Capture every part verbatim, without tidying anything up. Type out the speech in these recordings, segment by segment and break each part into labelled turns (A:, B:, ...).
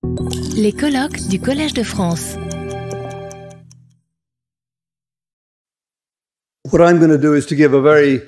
A: Les colloques du Collège de France.
B: What I'm going to do is to give a very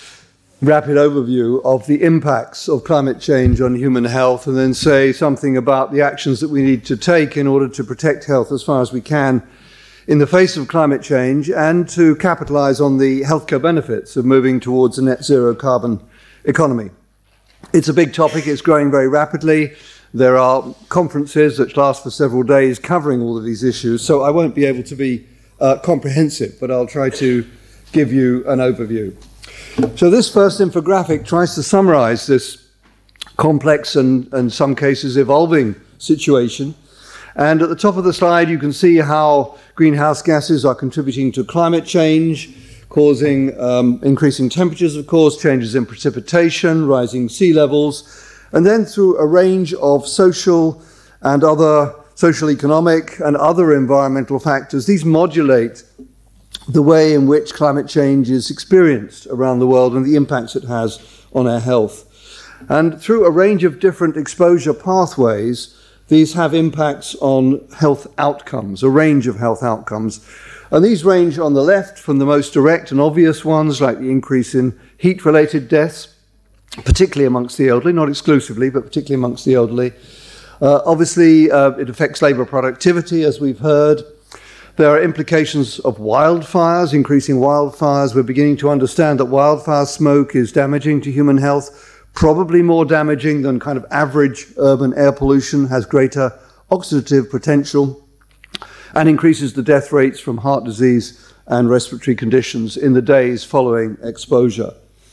B: rapid overview of the impacts of climate change on human health, and then say something about the actions that we need to take in order to protect health as far as we can in the face of climate change, and to capitalize on the healthcare benefits of moving towards a net zero carbon economy. It's a big topic, it's growing very rapidly. There are conferences that last for several days covering all of these issues, so I won't be able to be uh, comprehensive, but I'll try to give you an overview. So this first infographic tries to summarize this complex and, in some cases, evolving situation. And at the top of the slide, you can see how greenhouse gases are contributing to climate change, causing um, increasing temperatures, of course, changes in precipitation, rising sea levels, and then through a range of social and other social, economic, and other environmental factors. These modulate the way in which climate change is experienced around the world and the impacts it has on our health. And through a range of different exposure pathways, these have impacts on health outcomes, a range of health outcomes. And these range on the left from the most direct and obvious ones, like the increase in heat-related deaths, particularly amongst the elderly, not exclusively, but particularly amongst the elderly. Uh, obviously, uh, it affects labour productivity, as we've heard. There are implications of wildfires, increasing wildfires. We're beginning to understand that wildfire smoke is damaging to human health, probably more damaging than kind of average urban air pollution, has greater oxidative potential, and increases the death rates from heart disease and respiratory conditions in the days following exposure.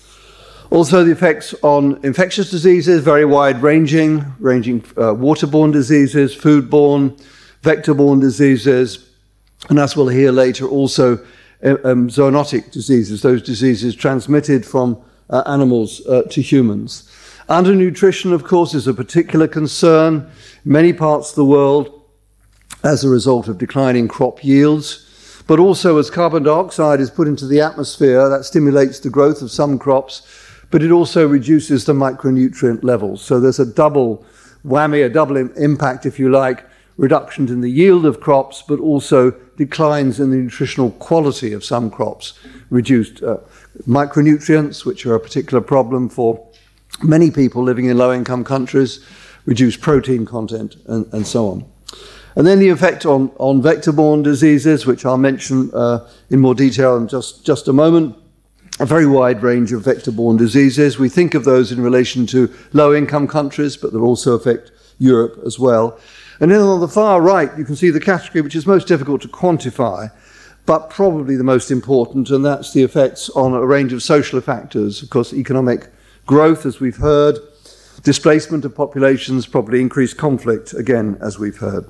B: Also, the effects on infectious diseases, very wide-ranging, ranging uh, waterborne diseases, foodborne, vector-borne diseases, and as we'll hear later, also um, zoonotic diseases, those diseases transmitted from uh, animals uh, to humans. Undernutrition, of course, is a particular concern in many parts of the world as a result of declining crop yields, but also as carbon dioxide is put into the atmosphere, that stimulates the growth of some crops, but it also reduces the micronutrient levels. So there's a double whammy, a double impact, if you like, reductions in the yield of crops, but also declines in the nutritional quality of some crops, reduced uh, micronutrients, which are a particular problem for many people living in low-income countries, reduced protein content, and, and so on. And then the effect on, on vector-borne diseases, which I'll mention uh, in more detail in just, just a moment. A very wide range of vector-borne diseases. We think of those in relation to low-income countries, but they also affect Europe as well. And then on the far right, you can see the category which is most difficult to quantify, but probably the most important, and that's the effects on a range of social factors. Of course, economic growth, as we've heard, displacement of populations, probably increased conflict, again, as we've heard.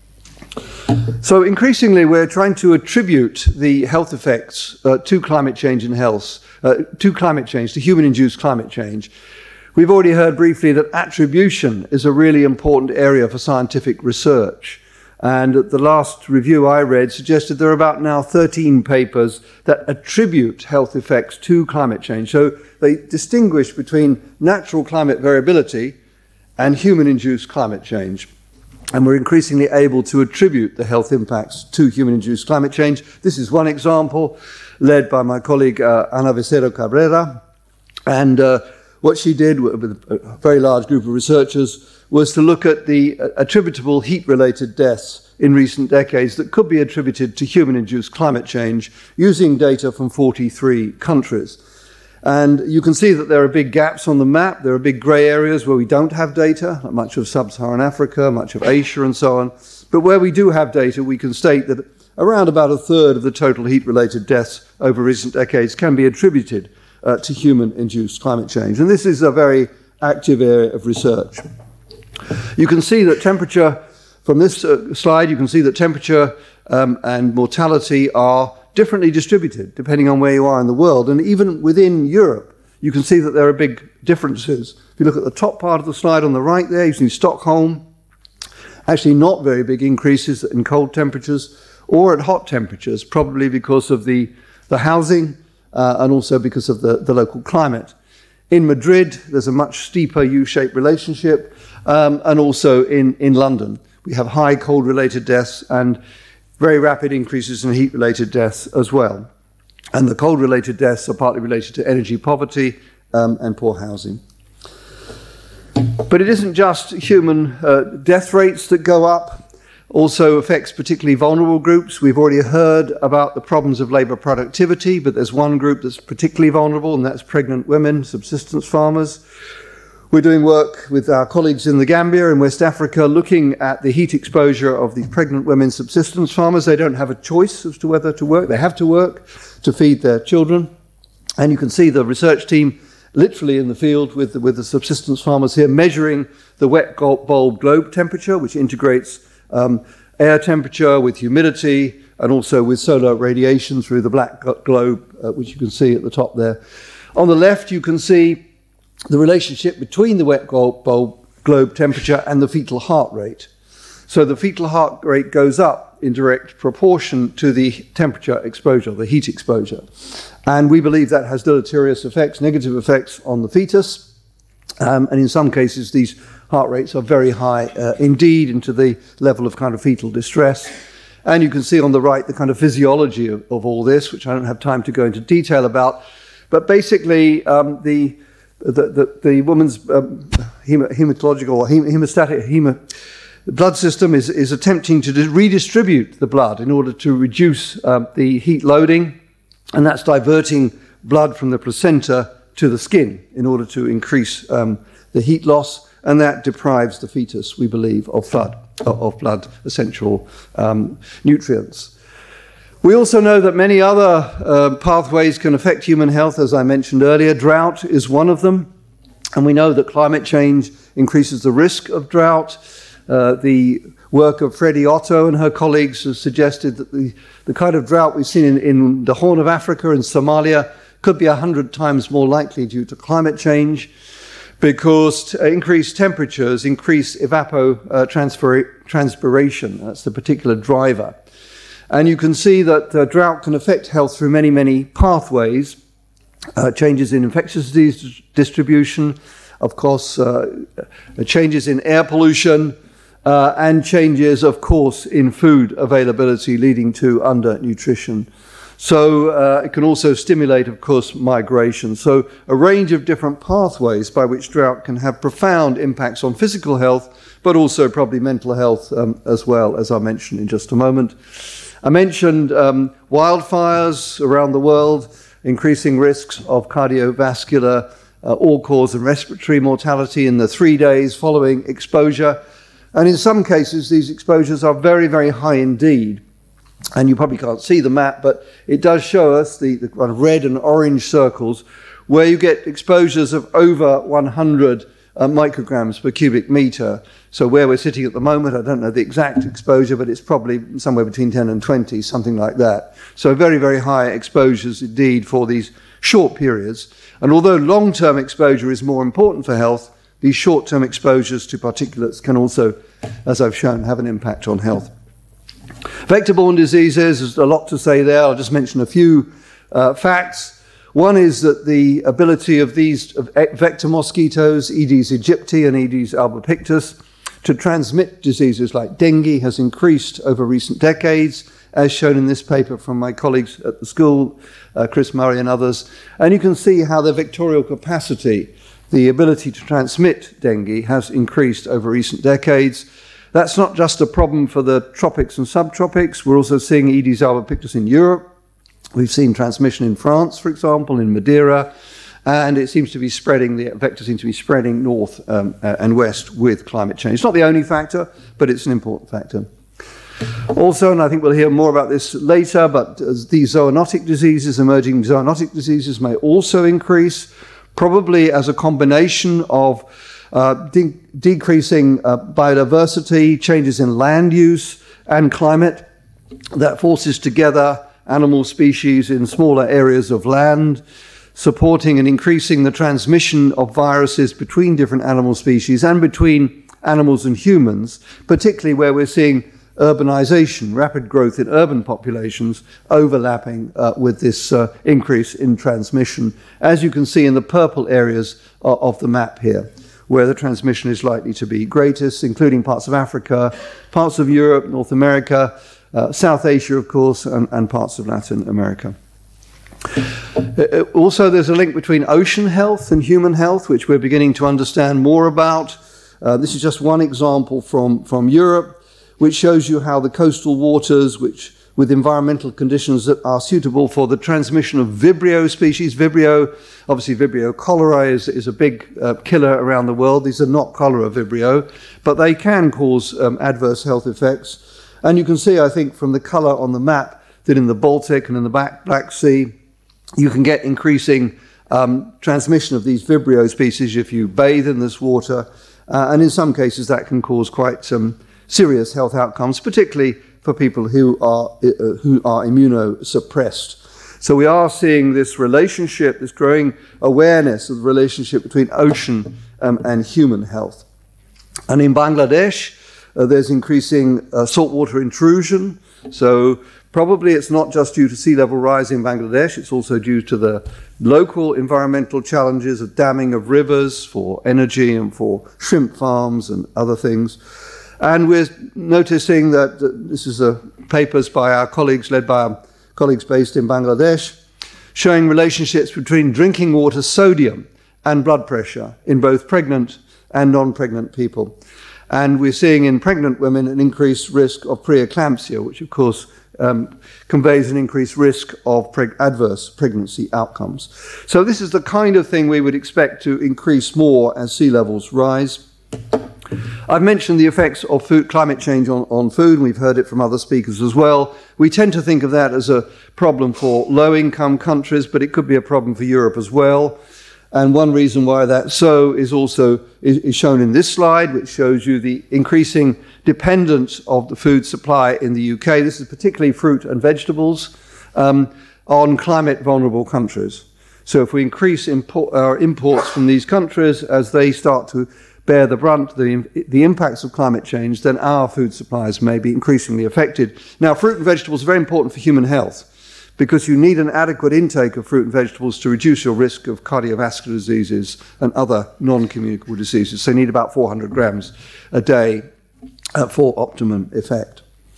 B: So increasingly, we're trying to attribute the health effects uh, to climate change and health, uh, to climate change, to human-induced climate change. We've already heard briefly that attribution is a really important area for scientific research. And the last review I read suggested there are about now thirteen papers that attribute health effects to climate change. So they distinguish between natural climate variability and human-induced climate change. And we're increasingly able to attribute the health impacts to human-induced climate change. This is one example, led by my colleague uh, Ana Becerra Cabrera. And uh, what she did with a very large group of researchers was to look at the attributable heat-related deaths in recent decades that could be attributed to human-induced climate change using data from forty-three countries. And you can see that there are big gaps on the map. There are big grey areas where we don't have data, like much of sub-Saharan Africa, much of Asia and so on. But where we do have data, we can state that around about a third of the total heat-related deaths over recent decades can be attributed uh, to human-induced climate change. And this is a very active area of research. You can see that temperature, from this uh, slide, you can see that temperature um, and mortality are differently distributed depending on where you are in the world. And even within Europe, you can see that there are big differences. If you look at the top part of the slide on the right there, you see Stockholm, actually not very big increases in cold temperatures or at hot temperatures, probably because of the, the housing uh, and also because of the, the local climate. In Madrid, there's a much steeper U-shaped relationship. um, and also in, in London. We have high cold-related deaths and very rapid increases in heat-related deaths as well. And the cold-related deaths are partly related to energy poverty um, and poor housing. But it isn't just human uh, death rates that go up, also affects particularly vulnerable groups. We've already heard about the problems of labour productivity, but there's one group that's particularly vulnerable, and that's pregnant women, subsistence farmers. We're doing work with our colleagues in the Gambia and West Africa looking at the heat exposure of the pregnant women subsistence farmers. They don't have a choice as to whether to work. They have to work to feed their children. And you can see the research team literally in the field with the, with the subsistence farmers here measuring the wet bulb globe temperature, which integrates um, air temperature with humidity and also with solar radiation through the black globe, uh, which you can see at the top there. On the left, you can see the relationship between the wet bulb globe temperature and the fetal heart rate. So the fetal heart rate goes up in direct proportion to the temperature exposure, the heat exposure. And we believe that has deleterious effects, negative effects on the fetus. Um, and in some cases, these heart rates are very high uh, indeed, into the level of kind of fetal distress. And you can see on the right the kind of physiology of, of all this, which I don't have time to go into detail about. But basically, um, the The, the, the woman's um, hem hematological or hem hemostatic hemo blood system is, is attempting to redistribute the blood in order to reduce um, the heat loading, and that's diverting blood from the placenta to the skin in order to increase um, the heat loss, and that deprives the fetus, we believe, of blood, of blood essential um, nutrients. We also know that many other uh, pathways can affect human health, as I mentioned earlier. Drought is one of them, and we know that climate change increases the risk of drought. Uh, the work of Freddie Otto and her colleagues has suggested that the, the kind of drought we've seen in, in the Horn of Africa and Somalia could be a hundred times more likely due to climate change, because increased temperatures increase evapotranspiration. Uh, That's the particular driver. And you can see that uh, drought can affect health through many, many pathways. Uh, changes in infectious disease distribution, of course, uh, changes in air pollution, uh, and changes, of course, in food availability, leading to undernutrition. So uh, it can also stimulate, of course, migration. So a range of different pathways by which drought can have profound impacts on physical health, but also probably mental health um, as well, as I'll mention in just a moment. I mentioned um, wildfires around the world, increasing risks of cardiovascular, uh, all-cause and respiratory mortality in the three days following exposure. And in some cases, these exposures are very, very high indeed. And you probably can't see the map, but it does show us the, the kind of red and orange circles where you get exposures of over one hundred uh, micrograms per cubic meter. So where we're sitting at the moment, I don't know the exact exposure, but it's probably somewhere between ten and twenty, something like that. So very, very high exposures indeed for these short periods. And although long-term exposure is more important for health, these short-term exposures to particulates can also, as I've shown, have an impact on health. Vector-borne diseases, there's a lot to say there. I'll just mention a few uh, facts. One is that the ability of these of vector mosquitoes, Aedes aegypti and Aedes albopictus, to transmit diseases like dengue has increased over recent decades, as shown in this paper from my colleagues at the school, uh, Chris Murray and others. And you can see how the vectorial capacity, the ability to transmit dengue, has increased over recent decades. That's not just a problem for the tropics and subtropics. We're also seeing Aedes albopictus in Europe. We've seen transmission in France, for example, in Madeira, and it seems to be spreading, the vector seems to be spreading north um, uh, and west with climate change. It's not the only factor, but it's an important factor. Also, and I think we'll hear more about this later, but these zoonotic diseases, emerging zoonotic diseases, may also increase, probably as a combination of uh, de decreasing uh, biodiversity, changes in land use and climate that forces together animal species in smaller areas of land, supporting and increasing the transmission of viruses between different animal species and between animals and humans, particularly where we're seeing urbanization, rapid growth in urban populations overlapping uh, with this uh, increase in transmission, as you can see in the purple areas of, of the map here. where the transmission is likely to be greatest, including parts of Africa, parts of Europe, North America, uh, South Asia, of course, and, and parts of Latin America. Uh, also, there's a link between ocean health and human health, which we're beginning to understand more about. Uh, this is just one example from, from Europe, which shows you how the coastal waters, which with environmental conditions that are suitable for the transmission of Vibrio species. Vibrio, obviously Vibrio cholera is, is a big uh, killer around the world. These are not cholera Vibrio, but they can cause um, adverse health effects. And you can see, I think, from the color on the map, that in the Baltic and in the back Black Sea, you can get increasing um, transmission of these Vibrio species if you bathe in this water. Uh, and in some cases, that can cause quite some serious health outcomes, particularly for people who are, uh, who are immunosuppressed. So we are seeing this relationship, this growing awareness of the relationship between ocean um, and human health. And in Bangladesh, uh, there's increasing uh, saltwater intrusion. So probably it's not just due to sea level rise in Bangladesh, it's also due to the local environmental challenges of damming of rivers for energy and for shrimp farms and other things. And we're noticing that uh, this is a papers by our colleagues, led by our colleagues based in Bangladesh, showing relationships between drinking water sodium and blood pressure in both pregnant and non-pregnant people. And we're seeing in pregnant women an increased risk of preeclampsia, which of course um, conveys an increased risk of preg- adverse pregnancy outcomes. So this is the kind of thing we would expect to increase more as sea levels rise. I've mentioned the effects of food, climate change on, on food, and we've heard it from other speakers as well. We tend to think of that as a problem for low-income countries, but it could be a problem for Europe as well. And one reason why that's so is also is, is shown in this slide, which shows you the increasing dependence of the food supply in the U K. This is particularly fruit and vegetables um, on climate-vulnerable countries. So if we increase import, our imports from these countries as they start to bear the brunt, the, the impacts of climate change, then our food supplies may be increasingly affected. Now, fruit and vegetables are very important for human health because you need an adequate intake of fruit and vegetables to reduce your risk of cardiovascular diseases and other non-communicable diseases. So you need about four hundred grams a day uh, for optimum effect.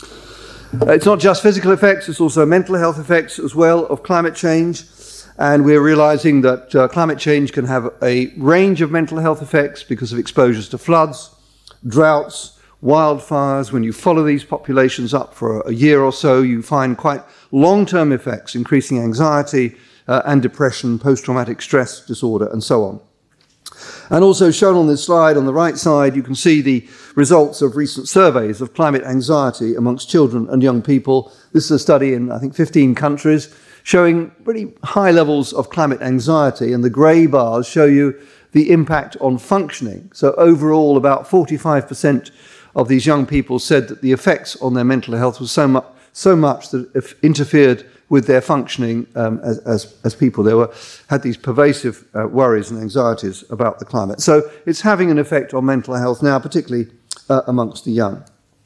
B: Uh, it's not just physical effects, it's also mental health effects as well of climate change. And we're realizing that uh, climate change can have a range of mental health effects because of exposures to floods, droughts, wildfires. When you follow these populations up for a year or so, you find quite long-term effects, increasing anxiety uh, and depression, post-traumatic stress disorder, and so on. And also shown on this slide, on the right side, you can see the results of recent surveys of climate anxiety amongst children and young people. This is a study in, I think, fifteen countries, showing pretty high levels of climate anxiety, and the grey bars show you the impact on functioning. So overall, about forty-five percent of these young people said that the effects on their mental health was so much, so much that it interfered with their functioning um, as, as, as people. They were, had these pervasive uh, worries and anxieties about the climate. So it's having an effect on mental health now, particularly uh, amongst the young.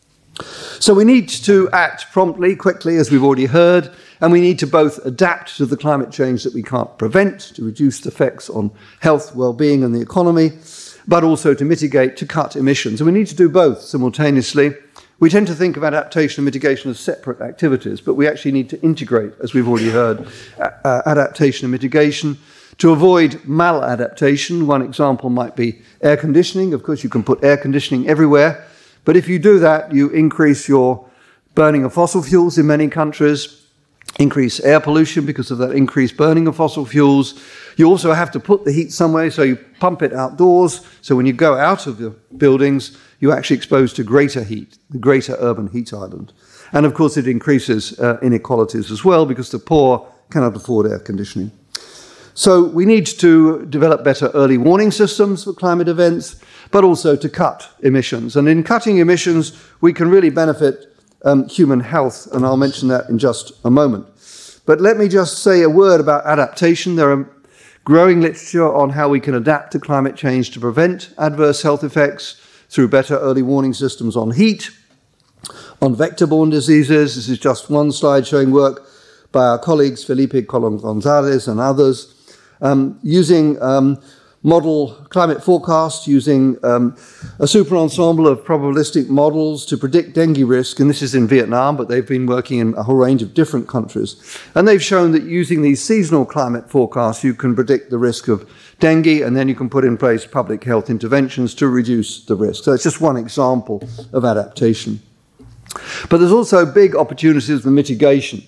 B: So we need to act promptly, quickly, as we've already heard, and we need to both adapt to the climate change that we can't prevent, to reduce the effects on health, well-being and the economy, but also to mitigate, to cut emissions. And we need to do both simultaneously. We tend to think of adaptation and mitigation as separate activities, but we actually need to integrate, as we've already heard, uh, adaptation and mitigation. To avoid maladaptation, one example might be air conditioning. Of course, you can put air conditioning everywhere, but if you do that, you increase your burning of fossil fuels in many countries, increase air pollution because of that increased burning of fossil fuels. You also have to put the heat somewhere, so you pump it outdoors. So when you go out of the buildings, you're actually exposed to greater heat, the greater urban heat island. And of course, it increases uh, inequalities as well because the poor cannot afford air conditioning. So we need to develop better early warning systems for climate events, but also to cut emissions. And in cutting emissions, we can really benefit um, human health, and I'll mention that in just a moment. But let me just say a word about adaptation. There are growing literature on how we can adapt to climate change to prevent adverse health effects through better early warning systems on heat, on vector-borne diseases. This is just one slide showing work by our colleagues Felipe Colón González and others, um, using um, model climate forecast using um, a super ensemble of probabilistic models to predict dengue risk, and this is in Vietnam, but they've been working in a whole range of different countries. And they've shown that using these seasonal climate forecasts, you can predict the risk of dengue, and then you can put in place public health interventions to reduce the risk. So it's just one example of adaptation. But there's also big opportunities for mitigation.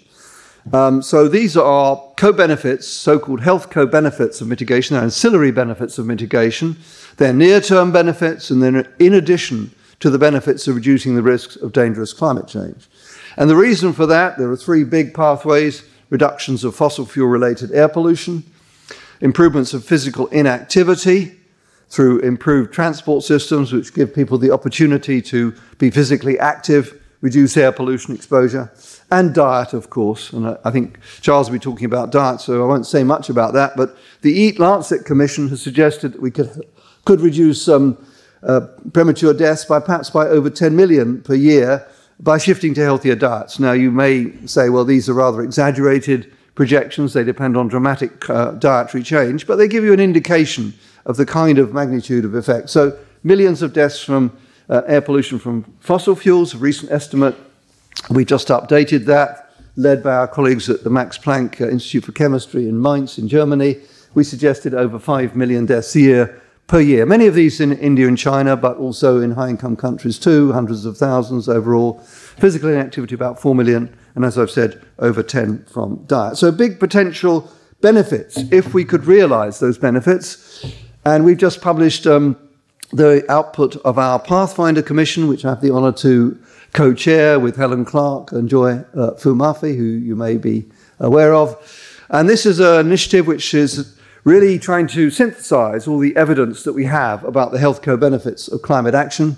B: Um, so these are co-benefits, so-called health co-benefits of mitigation. They're ancillary benefits of mitigation. They're near-term benefits, and then in addition to the benefits of reducing the risks of dangerous climate change. And the reason for that, there are three big pathways: reductions of fossil fuel-related air pollution, improvements of physical inactivity through improved transport systems, which give people the opportunity to be physically active, reduce air pollution exposure, and diet, of course. And I think Charles will be talking about diet, so I won't say much about that. But the Eat Lancet Commission has suggested that we could, could reduce um, uh, premature deaths by perhaps by over ten million per year by shifting to healthier diets. Now, you may say, well, these are rather exaggerated projections. They depend on dramatic uh, dietary change, but they give you an indication of the kind of magnitude of effect. So millions of deaths from uh, air pollution from fossil fuels, a recent estimate. We just updated that, led by our colleagues at the Max Planck uh, Institute for Chemistry in Mainz in Germany. We suggested over five million deaths a year per year. Many of these in India and China, but also in high-income countries too, hundreds of thousands overall. Physical inactivity, about four million, and as I've said, over ten from diet. So big potential benefits if we could realize those benefits. And we've just published um, the output of our Pathfinder Commission, which I have the honor to co-chair with Helen Clark and Joy uh, Fu-Mafi, who you may be aware of. And this is an initiative which is really trying to synthesize all the evidence that we have about the health co-benefits of climate action.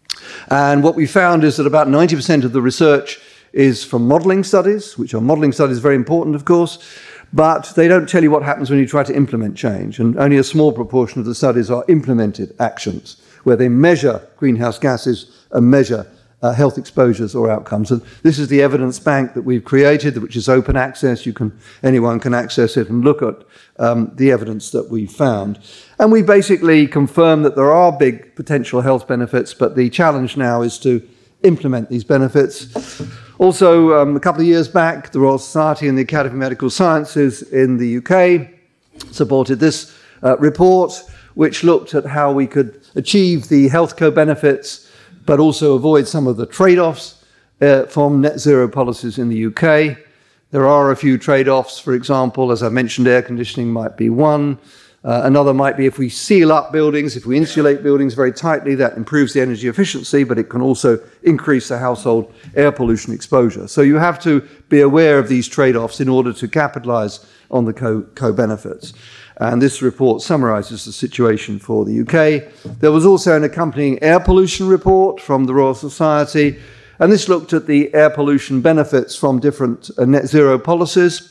B: And what we found is that about ninety percent of the research is from modeling studies, which are modeling studies very important, of course, but they don't tell you what happens when you try to implement change. And only a small proportion of the studies are implemented actions, where they measure greenhouse gases and measure Uh, health exposures or outcomes. And this is the evidence bank that we've created, which is open access. You can, anyone can access it and look at um, the evidence that we found. And we basically confirm that there are big potential health benefits, but the challenge now is to implement these benefits. Also, um, a couple of years back, the Royal Society and the Academy of Medical Sciences in the U K supported this uh, report, which looked at how we could achieve the health co-benefits but also avoid some of the trade-offs uh, from net zero policies in the U K. There are a few trade-offs. For example, as I mentioned, air conditioning might be one. Uh, another might be if we seal up buildings, if we insulate buildings very tightly, that improves the energy efficiency, but it can also increase the household air pollution exposure. So you have to be aware of these trade-offs in order to capitalize on the co- co-benefits. And this report summarizes the situation for the U K. There was also an accompanying air pollution report from the Royal Society, and this looked at the air pollution benefits from different uh, net zero policies.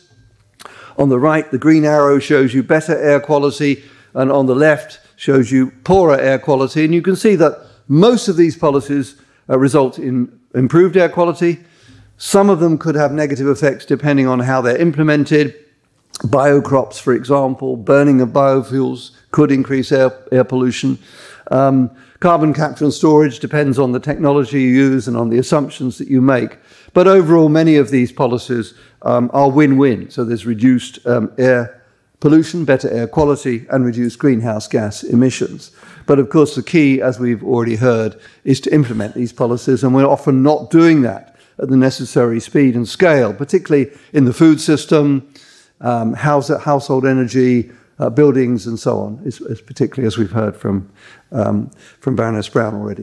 B: On the right, the green arrow shows you better air quality, and on the left shows you poorer air quality. And you can see that most of these policies uh, result in improved air quality. Some of them could have negative effects depending on how they're implemented. Biocrops, for example, burning of biofuels could increase air, air pollution. Um, carbon capture and storage depends on the technology you use and on the assumptions that you make. But overall, many of these policies um, are win-win. So there's reduced um, air pollution, better air quality, and reduced greenhouse gas emissions. But of course, the key, as we've already heard, is to implement these policies, and we're often not doing that at the necessary speed and scale, particularly in the food system, Um, house, household energy, uh, buildings, and so on, is, is particularly as we've heard from, um, from Baroness Brown already.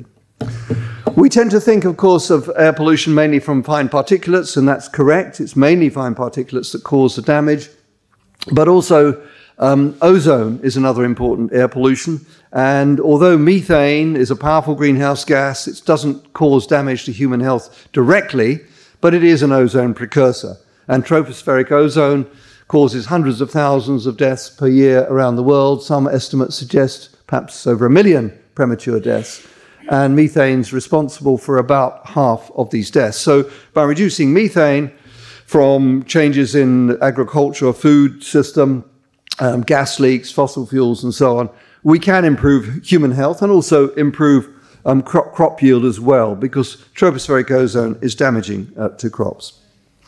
B: We tend to think, of course, of air pollution mainly from fine particulates, and that's correct. It's mainly fine particulates that cause the damage. But also, um, ozone is another important air pollution. And although methane is a powerful greenhouse gas, it doesn't cause damage to human health directly, but it is an ozone precursor. And tropospheric ozone causes hundreds of thousands of deaths per year around the world. Some estimates suggest perhaps over a million premature deaths. And methane's responsible for about half of these deaths. So by reducing methane from changes in agriculture or food system, um, gas leaks, fossil fuels, and so on, we can improve human health and also improve um, crop, crop yield as well, because tropospheric ozone is damaging uh, to crops.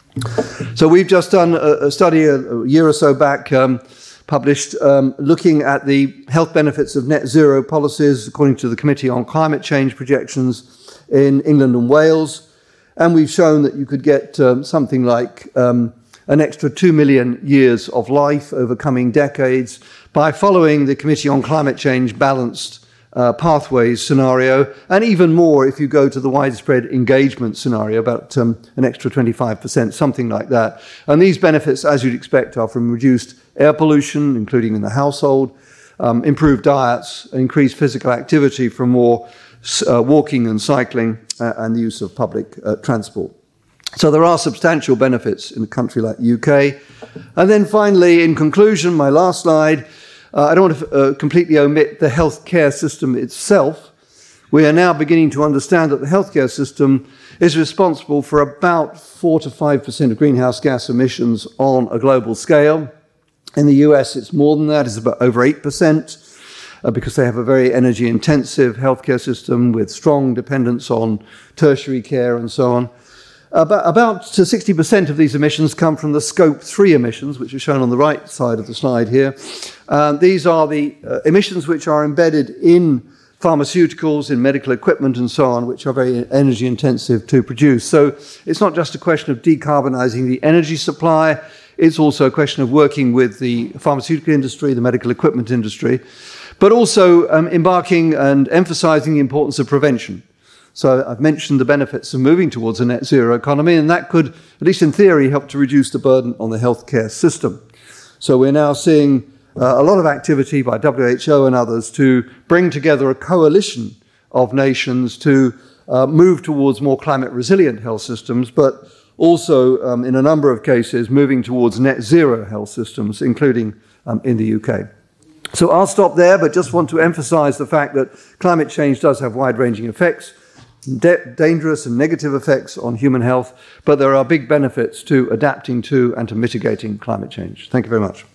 B: So we've just done a, a study a, a year or so back, um, published um, looking at the health benefits of net zero policies according to the Committee on Climate Change projections in England and Wales. And we've shown that you could get um, something like um, an extra two million years of life over coming decades by following the Committee on Climate Change balanced uh, pathways scenario, and even more if you go to the widespread engagement scenario, about um, an extra twenty-five percent, something like that. And these benefits, as you'd expect, are from reduced air pollution, including in the household, um, improved diets, increased physical activity from more uh, walking and cycling, uh, and the use of public uh, transport. So there are substantial benefits in a country like the U K. And then finally, in conclusion, my last slide, uh, I don't want to uh, completely omit the healthcare system itself. We are now beginning to understand that the healthcare system is responsible for about four to five percent of greenhouse gas emissions on a global scale. In the U S, it's more than that, it's about over eight percent, uh, because they have a very energy-intensive healthcare system with strong dependence on tertiary care and so on. About, about sixty percent of these emissions come from the scope three emissions, which are shown on the right side of the slide here. Uh, these are the uh, emissions which are embedded in pharmaceuticals, in medical equipment and so on, which are very energy intensive to produce. So it's not just a question of decarbonizing the energy supply, it's also a question of working with the pharmaceutical industry, the medical equipment industry, but also um, embarking and emphasizing the importance of prevention. So I've mentioned the benefits of moving towards a net zero economy, and that could, at least in theory, help to reduce the burden on the healthcare system. So we're now seeing uh, a lot of activity by W H O and others to bring together a coalition of nations to uh, move towards more climate resilient health systems, but also, um, in a number of cases, moving towards net zero health systems, including um, in the U K. So I'll stop there, but just want to emphasize the fact that climate change does have wide-ranging effects, dangerous and negative effects on human health, but there are big benefits to adapting to and to mitigating climate change. Thank you very much.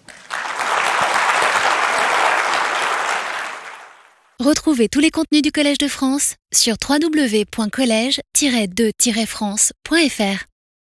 A: Retrouvez tous les contenus du Collège de France sur w w w point collège tiret de tiret france point f r.